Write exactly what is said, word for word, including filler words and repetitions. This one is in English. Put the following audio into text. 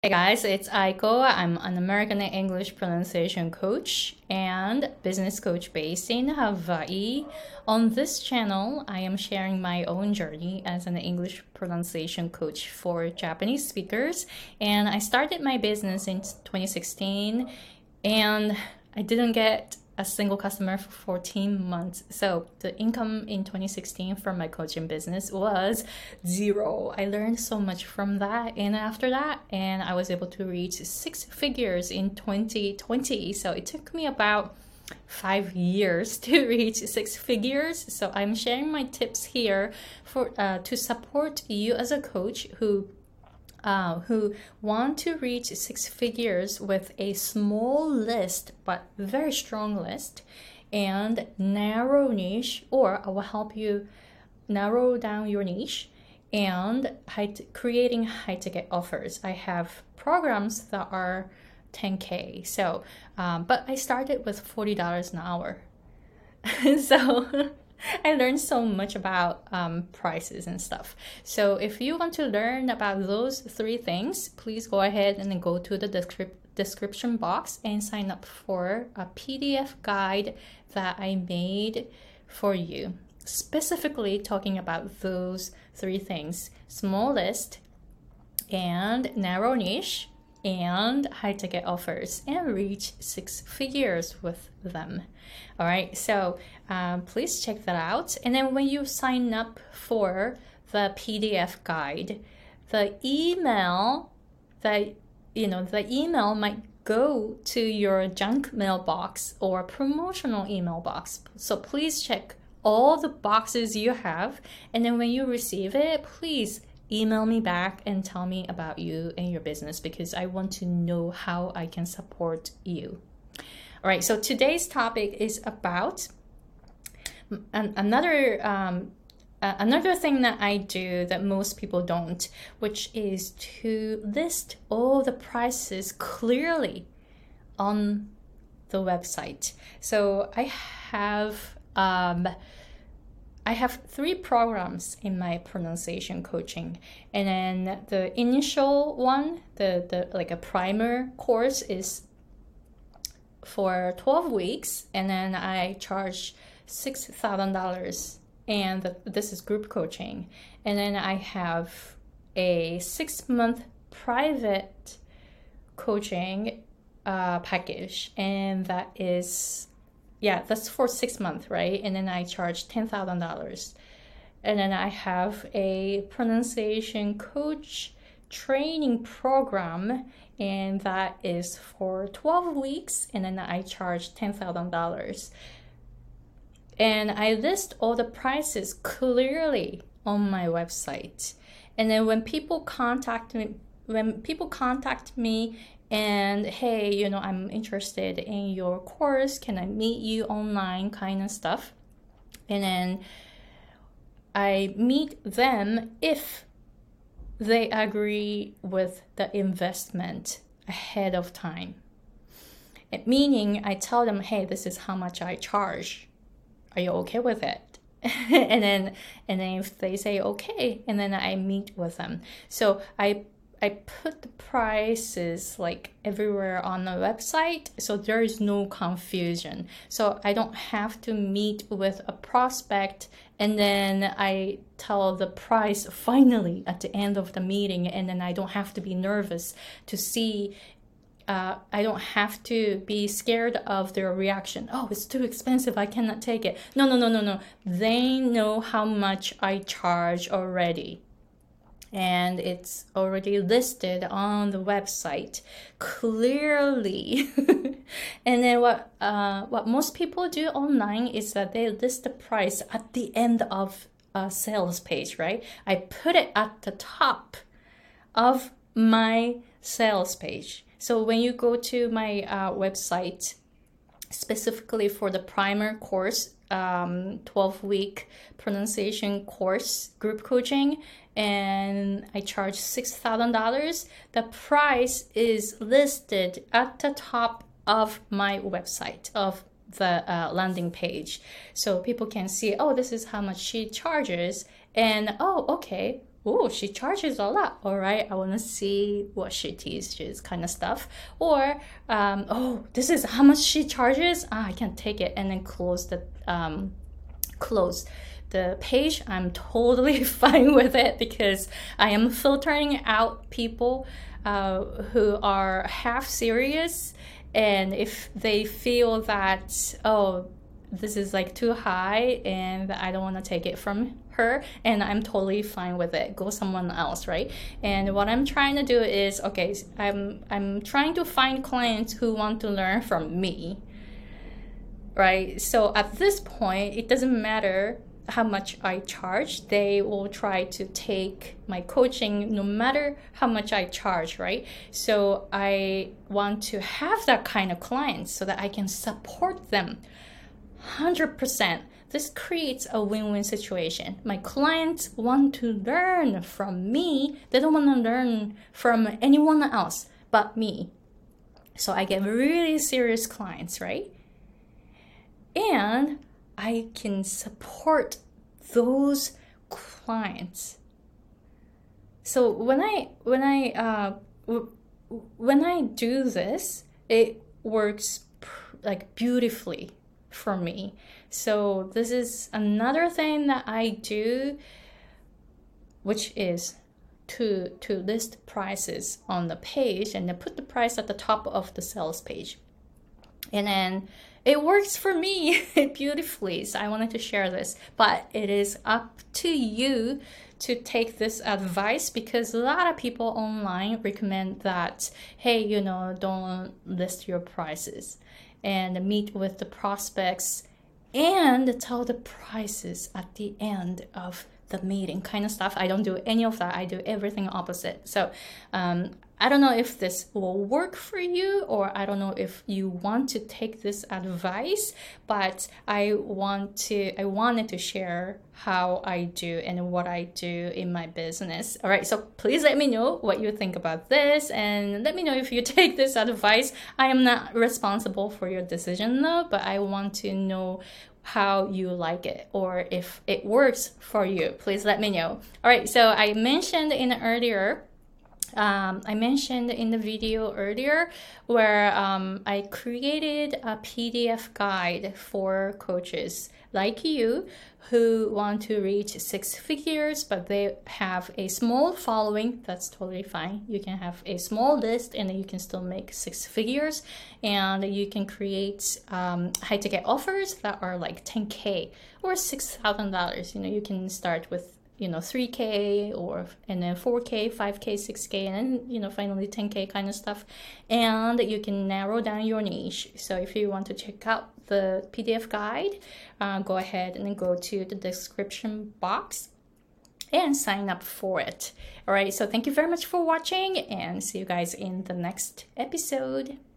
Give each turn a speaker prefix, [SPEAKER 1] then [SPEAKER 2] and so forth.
[SPEAKER 1] Hey guys, it's Aiko. I'm an American English pronunciation coach and business coach based in Hawaii. On this channel, I am sharing my own journey as an English pronunciation coach for Japanese speakers. And I started my business in twenty sixteen and I didn't get a single customer for fourteen months. So the income in twenty sixteen from my coaching business was zero. I learned so much from that. And after that, and I was able to reach six figures in twenty twenty. So it took me about five years to reach six figures. So I'm sharing my tips here for uh, to support you as a coach who Uh, who want to reach six figures with a small list but very strong list and narrow niche, or I will help you narrow down your niche and high t- creating high ticket offers. I have programs that are ten K. So, um, but I started with forty dollars an hour. so I learned so much about um, prices and stuff. So if you want to learn about those three things, please go ahead and go to the descrip- description box and sign up for a P D F guide that I made for you, specifically talking about those three things: small list and narrow niche and high ticket offers, and reach six figures with them. All right, so um, please check that out. And then when you sign up for the P D F guide, the email that you know the email might go to your junk mailbox or promotional email box. So please check all the boxes you have, and then when you receive it, please email me back and tell me about you and your business, because I want to know how I can support you. All right, so today's topic is about an, another um, uh, another thing that I do that most people don't, which is to list all the prices clearly on the website. So I have um, I have three programs in my pronunciation coaching, and then the initial one, the, the like a primer course, is for twelve weeks, and then I charge six thousand dollars, and the, this is group coaching. And then I have a six-month private coaching uh, package, and that is Yeah, that's for six months, right? And then I charge ten thousand dollars. And then I have a pronunciation coach training program, and that is for twelve weeks. And then I charge ten thousand dollars. And I list all the prices clearly on my website. And then when people contact me, when people contact me and, hey, you know, I'm interested in your course, can I meet you online, kind of stuff. And then I meet them if they agree with the investment ahead of time. It, meaning I tell them, hey, this is how much I charge. Are you okay with it? and then and then if they say okay, and then I meet with them. So I I put the prices like everywhere on the website, so there is no confusion. So I don't have to meet with a prospect and then I tell the price finally at the end of the meeting, and then I don't have to be nervous to see Uh, I don't have to be scared of their reaction. Oh, it's too expensive, I cannot take it. No, no, no, no, no. They know how much I charge already. And it's already listed on the website clearly. And then what uh, what most people do online is that they list the price at the end of a sales page, right? I put it at the top of my sales page. So when you go to my uh, website, specifically for the primer course, um, twelve week pronunciation course, group coaching, and I charge six thousand dollars, the price is listed at the top of my website, of the uh, landing page. So people can see, oh, this is how much she charges, and oh, okay, oh, she charges a lot. All right, I want to see what she teaches, kind of stuff. Or, um, oh, this is how much she charges. Ah, I can't take it, and then close the um, close the page. I'm totally fine with it because I am filtering out people uh, who are half serious, and if they feel that, oh, this is like too high and I don't want to take it from her, and I'm totally fine with it, go someone else, right? And what I'm trying to do is, okay, I'm I'm trying to find clients who want to learn from me, right? So at this point, it doesn't matter how much I charge, they will try to take my coaching no matter how much I charge, right? So I want to have that kind of clients so that I can support them one hundred percent. This creates a win-win situation. My clients want to learn from me. They don't want to learn from anyone else but me. So I get really serious clients, right? And I can support those clients. So when I when I uh, w- when I do this, it works pr- like beautifully for me. So this is another thing that I do, which is to to list prices on the page and then put the price at the top of the sales page. And then it works for me beautifully. So I wanted to share this, but it is up to you to take this advice, because a lot of people online recommend that, hey, you know, don't list your prices and meet with the prospects and tell the prices at the end of the meeting, kind of stuff. I don't do any of that. I do everything opposite. So um, I don't know if this will work for you, or I don't know if you want to take this advice, but I want to, I wanted to share how I do and what I do in my business. All right, so please let me know what you think about this, and let me know if you take this advice. I am not responsible for your decision though, but I want to know how you like it, or if it works for you. Please let me know. All right, so I mentioned in earlier Um, I mentioned in the video earlier where um, I created a P D F guide for coaches like you who want to reach six figures, but they have a small following. That's totally fine. You can have a small list and you can still make six figures, and you can create um, high ticket offers that are like ten K or six thousand dollars. You know, you can start with you know, three K or, and then four K, five K, six K, and then, you know, finally ten K kind of stuff. And you can narrow down your niche. So if you want to check out the P D F guide, uh, go ahead and then go to the description box and sign up for it. All right. So thank you very much for watching, and see you guys in the next episode.